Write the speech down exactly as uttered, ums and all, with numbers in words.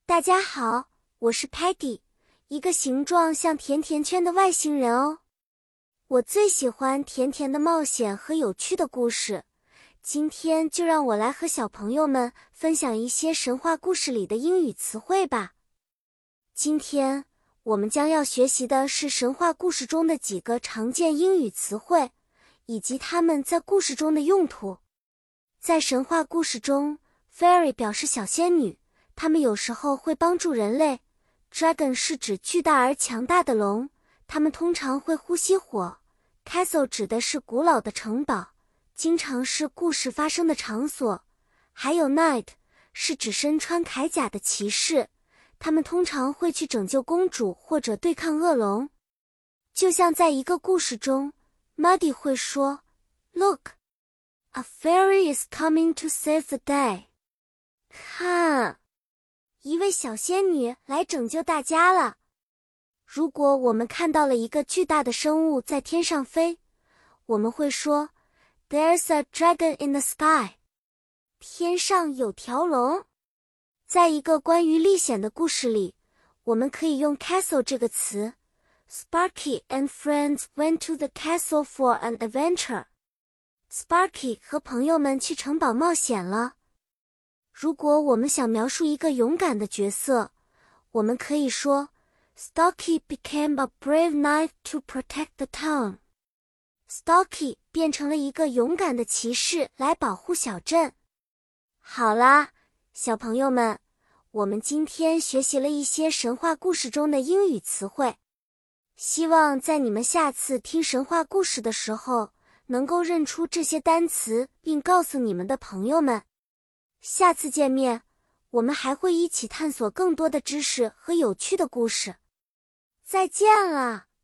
大家好，我是 Patty， 一个形状像甜甜圈的外星人哦。我最喜欢甜甜的冒险和有趣的故事，今天就让我来和小朋友们分享一些神话故事里的英语词汇吧。今天我们将要学习的是神话故事中的几个常见英语词汇，以及它们在故事中的用途。在神话故事中 ，Fairy 表示小仙女，它们有时候会帮助人类。Dragon 是指巨大而强大的龙，它们通常会呼吸火。Castle 指的是古老的城堡，经常是故事发生的场所。还有 Knight 是指身穿铠甲的骑士，他们通常会去拯救公主或者对抗恶龙。就像在一个故事中 Muddy 会说 Look, a fairy is coming to save the day. 看，一位小仙女来拯救大家了。如果我们看到了一个巨大的生物在天上飞，我们会说 There's a dragon in the sky. 天上有条龙。在一个关于历险的故事里，我们可以用 castle 这个词。Sparky and friends went to the castle for an adventure. Sparky 和朋友们去城堡冒险了。如果我们想描述一个勇敢的角色，我们可以说 Stocky became a brave knight to protect the town. Stocky 变成了一个勇敢的骑士来保护小镇。好啦，小朋友们，我们今天学习了一些神话故事中的英语词汇，希望在你们下次听神话故事的时候，能够认出这些单词，并告诉你们的朋友们。下次见面，我们还会一起探索更多的知识和有趣的故事。再见了。